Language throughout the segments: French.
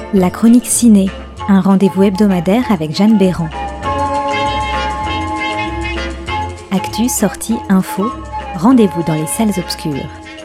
La chronique ciné, un rendez-vous hebdomadaire avec Jeanne Béran. Actu, sortie, info, rendez-vous dans les salles obscures.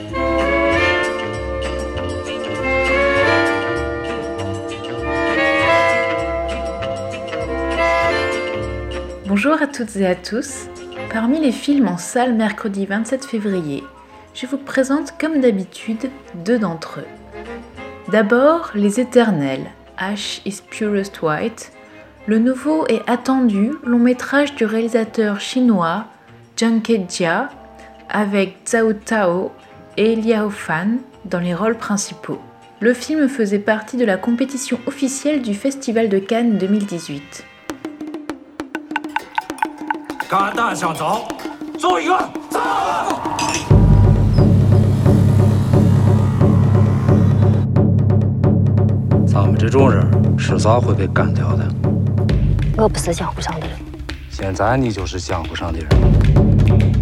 Bonjour à toutes et à tous. Parmi les films en salle mercredi 27 février, je vous présente comme d'habitude deux d'entre eux. D'abord, Les Éternels, Ash is Purest White, le nouveau et attendu long métrage du réalisateur chinois Zhang Kejia avec Zhao Tao et Liao Fan dans les rôles principaux. Le film faisait partie de la compétition officielle du Festival de Cannes 2018. 干蛋想走，走一个，走！ 咱们这种人迟早会被干掉的。 我不是江湖上的人。 现在你就是江湖上的人。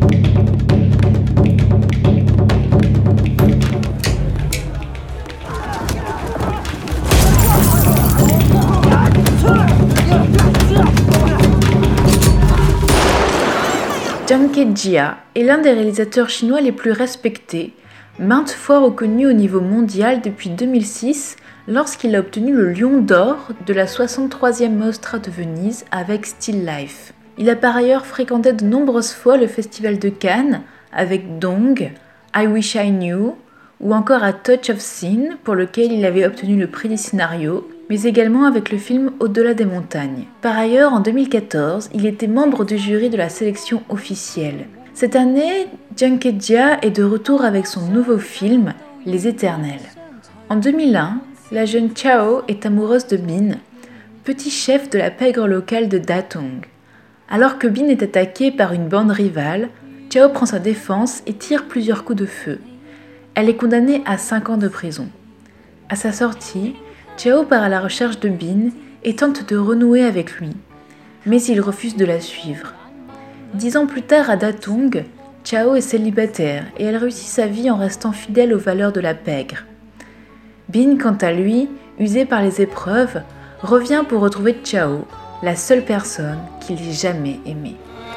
Zhang Kejia est l'un des réalisateurs chinois les plus respectés, maintes fois reconnu au niveau mondial depuis 2006 lorsqu'il a obtenu le Lion d'Or de la 63e Mostra de Venise avec Still Life. Il a par ailleurs fréquenté de nombreuses fois le Festival de Cannes avec Dong, I Wish I Knew ou encore A Touch of Sin pour lequel il avait obtenu le prix du scénario, mais également avec le film Au-delà des montagnes. Par ailleurs, en 2014, il était membre du jury de la sélection officielle. Cette année, Zhang Kejia est de retour avec son nouveau film, Les Éternels. En 2001, la jeune Chao est amoureuse de Bin, petit chef de la pègre locale de Datong. Alors que Bin est attaqué par une bande rivale, Chao prend sa défense et tire plusieurs coups de feu. Elle est condamnée à 5 ans de prison. À sa sortie, Chao part à la recherche de Bin et tente de renouer avec lui, mais il refuse de la suivre. 10 ans plus tard à Datong, Chao est célibataire et elle réussit sa vie en restant fidèle aux valeurs de la pègre. Bin, quant à lui, usé par les épreuves, revient pour retrouver Chao, la seule personne qu'il ait jamais aimée.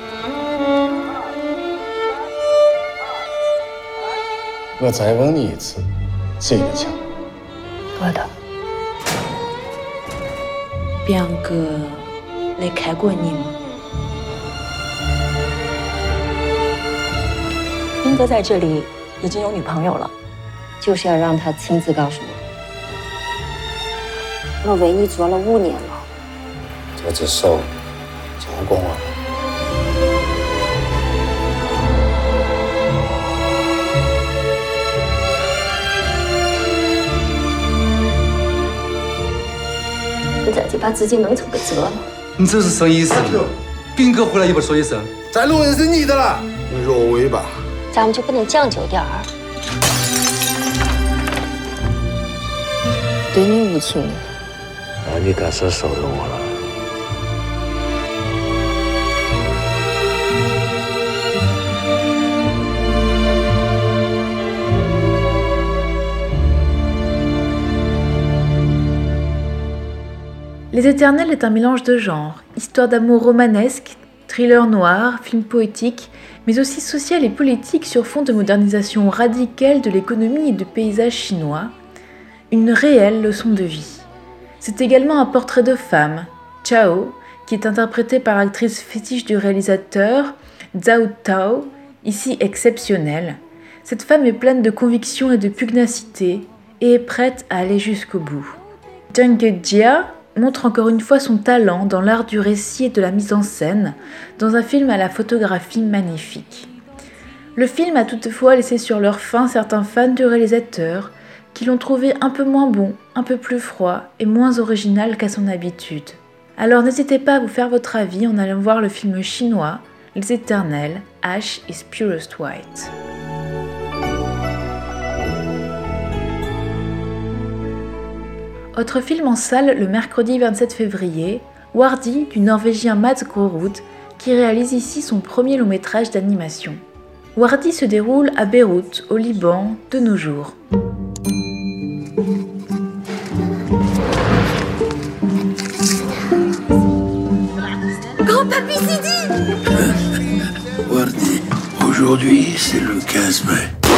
Je再问你一次，谁的枪？ 我的。 边哥来看过你吗？ 斌哥在这里已经有女朋友了，就是要让他亲自告诉我。我为你做了5年了， 这只手交过我了。 你自己把自己弄成个折了。 你这是什么意思？斌哥回来也不说一声。 再录也是你的了，你若为吧。 咱们就不能讲究点儿？对你无情， 那你该是收留我了。 Les Éternels est un mélange de genres, histoire d'amour romanesque, thriller noir, film poétique, mais aussi social et politique sur fond de modernisation radicale de l'économie et du paysage chinois, une réelle leçon de vie. C'est également un portrait de femme, Chao, qui est interprétée par l'actrice fétiche du réalisateur, Zhao Tao, ici exceptionnelle. Cette femme est pleine de conviction et de pugnacité et est prête à aller jusqu'au bout. Zhang Kejia montre encore une fois son talent dans l'art du récit et de la mise en scène, dans un film à la photographie magnifique. Le film a toutefois laissé sur leur faim certains fans du réalisateur, qui l'ont trouvé un peu moins bon, un peu plus froid et moins original qu'à son habitude. Alors n'hésitez pas à vous faire votre avis en allant voir le film chinois Les Éternels, Ash is Purest White. Autre film en salle le mercredi 27 février, Wardi du Norvégien Mats Grorud, qui réalise ici son premier long métrage d'animation. Wardi se déroule à Beyrouth, au Liban, de nos jours. Wardi, aujourd'hui c'est le 15 mai.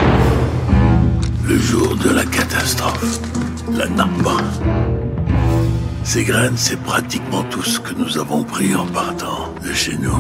Le jour de la catastrophe. La Namba. Ces graines, c'est pratiquement tout ce que nous avons pris en partant de chez nous.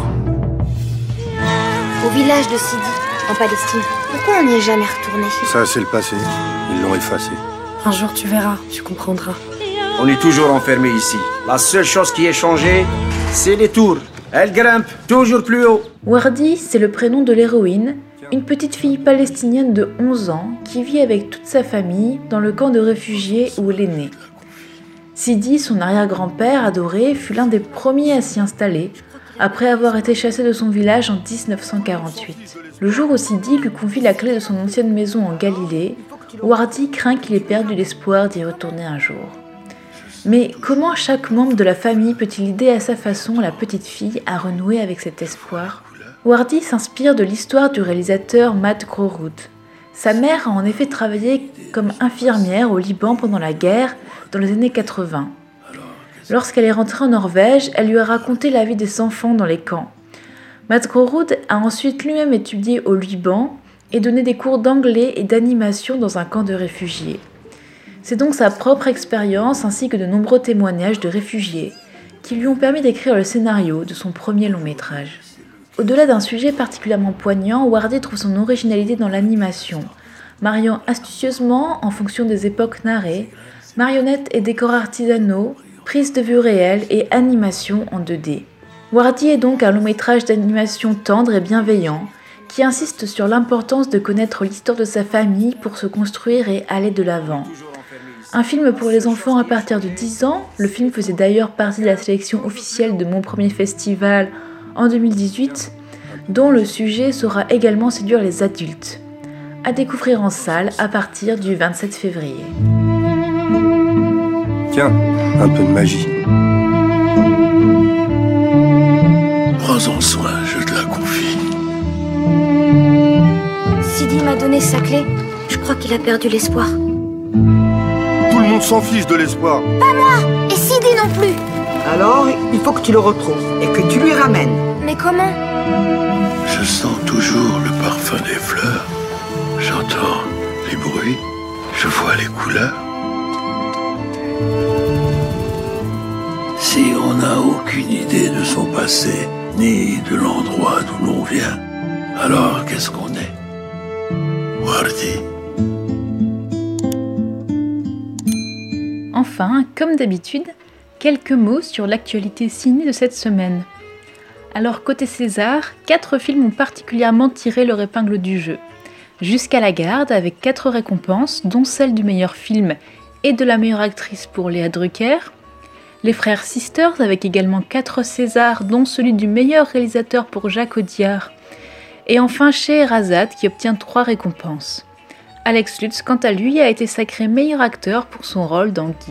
Au village de Sidi, en Palestine. Pourquoi on n'y est jamais retourné? Ça, c'est le passé. Ils l'ont effacé. Un jour, tu verras, tu comprendras. On est toujours enfermés ici. La seule chose qui est changée, c'est les tours. Elles grimpent toujours plus haut. Wardi, c'est le prénom de l'héroïne, une petite fille palestinienne de 11 ans qui vit avec toute sa famille dans le camp de réfugiés où elle est née. Sidi, son arrière-grand-père adoré, fut l'un des premiers à s'y installer, après avoir été chassé de son village en 1948. Le jour où Sidi lui confie la clé de son ancienne maison en Galilée, Wardi craint qu'il ait perdu l'espoir d'y retourner un jour. Mais comment chaque membre de la famille peut-il aider à sa façon la petite fille à renouer avec cet espoir? Wardi s'inspire de l'histoire du réalisateur Matt Groeroud. Sa mère a en effet travaillé comme infirmière au Liban pendant la guerre dans les années 80. Lorsqu'elle est rentrée en Norvège, elle lui a raconté la vie des enfants dans les camps. Matt Groeroud a ensuite lui-même étudié au Liban et donné des cours d'anglais et d'animation dans un camp de réfugiés. C'est donc sa propre expérience ainsi que de nombreux témoignages de réfugiés qui lui ont permis d'écrire le scénario de son premier long métrage. Au-delà d'un sujet particulièrement poignant, Wardi trouve son originalité dans l'animation, mariant astucieusement, en fonction des époques narrées, marionnettes et décors artisanaux, prise de vue réelle et animation en 2D. Wardi est donc un long métrage d'animation tendre et bienveillant qui insiste sur l'importance de connaître l'histoire de sa famille pour se construire et aller de l'avant. Un film pour les enfants à partir de 10 ans, le film faisait d'ailleurs partie de la sélection officielle de Mon Premier Festival en 2018, dont le sujet saura également séduire les adultes. À découvrir en salle à partir du 27 février. Tiens, un peu de magie. Prends-en soin, je te la confie. Sidi m'a donné sa clé. Je crois qu'il a perdu l'espoir. Tout le monde s'en fiche de l'espoir. Pas moi! Et Sidi non plus! Alors, il faut que tu le retrouves et que tu lui ramènes. Mais comment? Je sens toujours le parfum des fleurs. J'entends les bruits. Je vois les couleurs. Si on n'a aucune idée de son passé, ni de l'endroit d'où l'on vient, alors qu'est-ce qu'on est? Wardi. Enfin, comme d'habitude, quelques mots sur l'actualité ciné de cette semaine. Alors côté César, 4 films ont particulièrement tiré leur épingle du jeu. Jusqu'à la garde avec 4 récompenses, dont celle du meilleur film et de la meilleure actrice pour Léa Drucker. Les frères Sisters avec également 4 Césars, dont celui du meilleur réalisateur pour Jacques Audiard. Et enfin Scheherazade qui obtient 3 récompenses. Alex Lutz, quant à lui, a été sacré meilleur acteur pour son rôle dans Guy.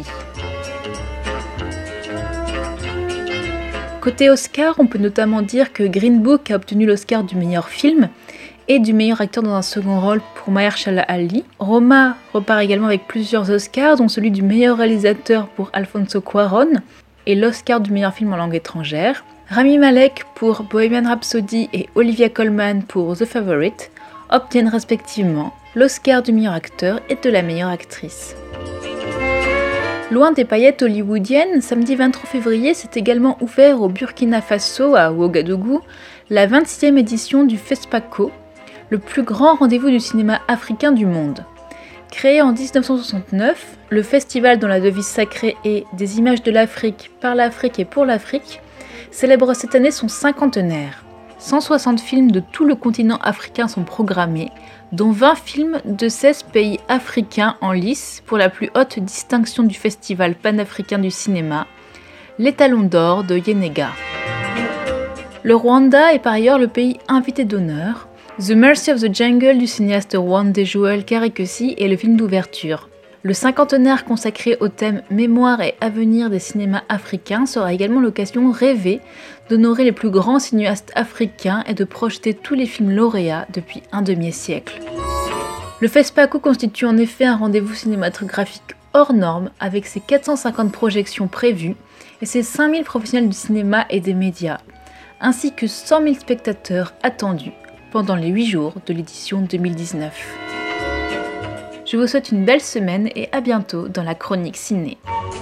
Côté Oscar, on peut notamment dire que Green Book a obtenu l'Oscar du meilleur film et du meilleur acteur dans un second rôle pour Mahershala Ali. Roma repart également avec plusieurs Oscars, dont celui du meilleur réalisateur pour Alfonso Cuarón et l'Oscar du meilleur film en langue étrangère. Rami Malek pour Bohemian Rhapsody et Olivia Colman pour The Favourite obtiennent respectivement l'Oscar du meilleur acteur et de la meilleure actrice. Loin des paillettes hollywoodiennes, samedi 23 février s'est également ouvert au Burkina Faso, à Ouagadougou, la 26e édition du FESPACO, le plus grand rendez-vous du cinéma africain du monde. Créé en 1969, le festival dont la devise sacrée est « Des images de l'Afrique, par l'Afrique et pour l'Afrique » célèbre cette année son cinquantenaire. 160 films de tout le continent africain sont programmés, dont 20 films de 16 pays africains en lice pour la plus haute distinction du Festival panafricain du cinéma, l'étalon d'or de Yenega. Le Rwanda est par ailleurs le pays invité d'honneur. The Mercy of the Jungle du cinéaste rwandais Joel Karekesi est le film d'ouverture. Le cinquantenaire consacré au thème mémoire et avenir des cinémas africains sera également l'occasion rêvée d'honorer les plus grands cinéastes africains et de projeter tous les films lauréats depuis un demi-siècle. Le FESPACO constitue en effet un rendez-vous cinématographique hors norme avec ses 450 projections prévues et ses 5000 professionnels du cinéma et des médias. ainsi que 100 000 spectateurs attendus pendant les 8 jours de l'édition 2019. Je vous souhaite une belle semaine et à bientôt dans la chronique ciné.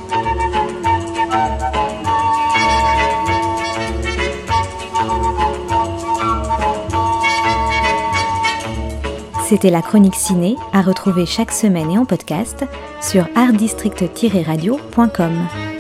C'était la chronique ciné à retrouver chaque semaine et en podcast sur artdistrict-radio.com.